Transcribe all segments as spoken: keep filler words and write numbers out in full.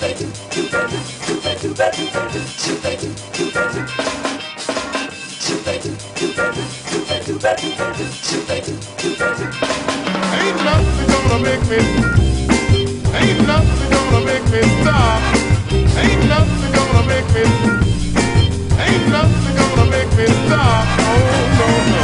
Ain't nothing gonna make me, ain't nothing gonna make me stop. Ain't nothing gonna make me, ain't nothing gonna make me stop. Oh no no.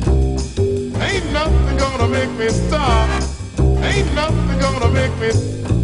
Ain't nothing gonna make me stop. Ain't nothing gonna make me